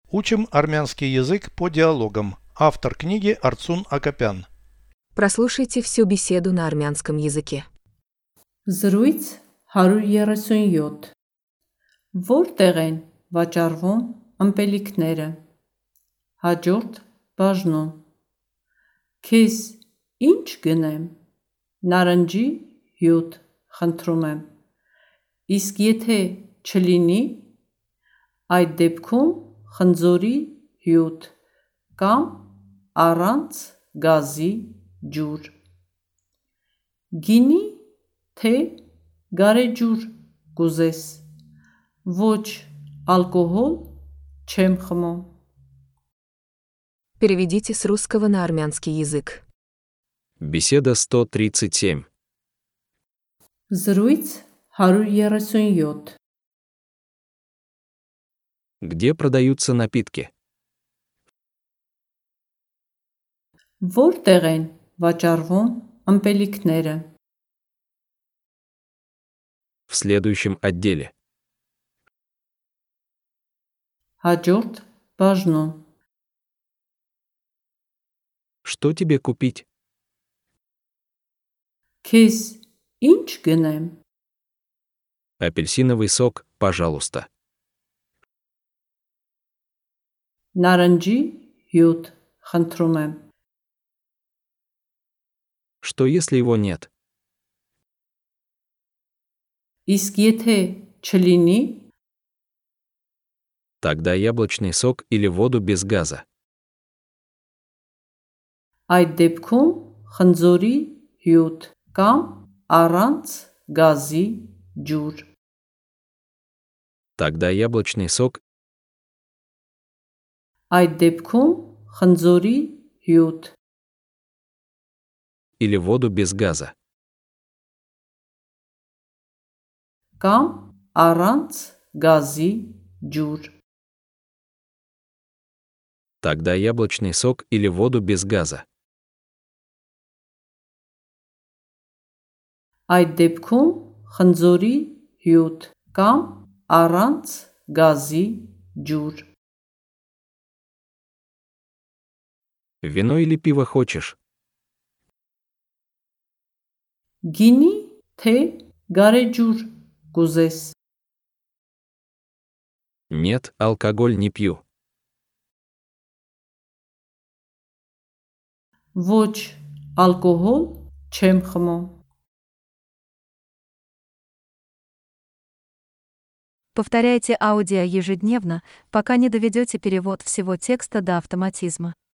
Учим армянский язык по диалогам. Автор книги Арцун Акопян. Прослушайте всю беседу на армянском языке. Զրույց 137 Որտեղ են վաճառվում ըմպելիքները։ Հաջորդ բաժնում Քեզ ինչ գնեմ։ Նարնջի հյութ խնդրում եմ։ Իսկ եթե չլինի, այդ դեպքում խնձորի հյութ կամ առանց գազի ջուր։ Գինի թե գարեջուր կուզես։ Ոչ ալկոհոլ չեմ խմում։ Переведите с русского на армянский язык. Беседа 137. Զրույց 137 Где продаются напитки? Որտեղ են վաճառվում ըմպելիքները։ В следующем отделе. Հաջորդ բաժնում Что тебе купить? Քեզ ինչ գնեմ։ Апельсиновый сок, пожалуйста. Նարնջի հյութ խնդրում եմ։ Что если его нет? Իսկ եթե չլինի, Тогда яблочный сок или воду без газа. այդ դեպքում խնձորի հյութ կամ առանց գազի ջուր։ Тогда яблочный сок Այդ դեպքում խնձորի հյութ или воду без газа. կամ առանց գազի ջուր։ Тогда яблочный сок или воду без газа. Այդ դեպքում խնձորի հյութ կամ առանց գազի ջուր։ Вино или пиво хочешь? Գինի թե գարեջուր կուզես։ Нет, алкоголь не пью. Ոչ ալկոհոլ չեմ խմում։ Повторяйте аудио ежедневно, пока не доведете перевод всего текста до автоматизма.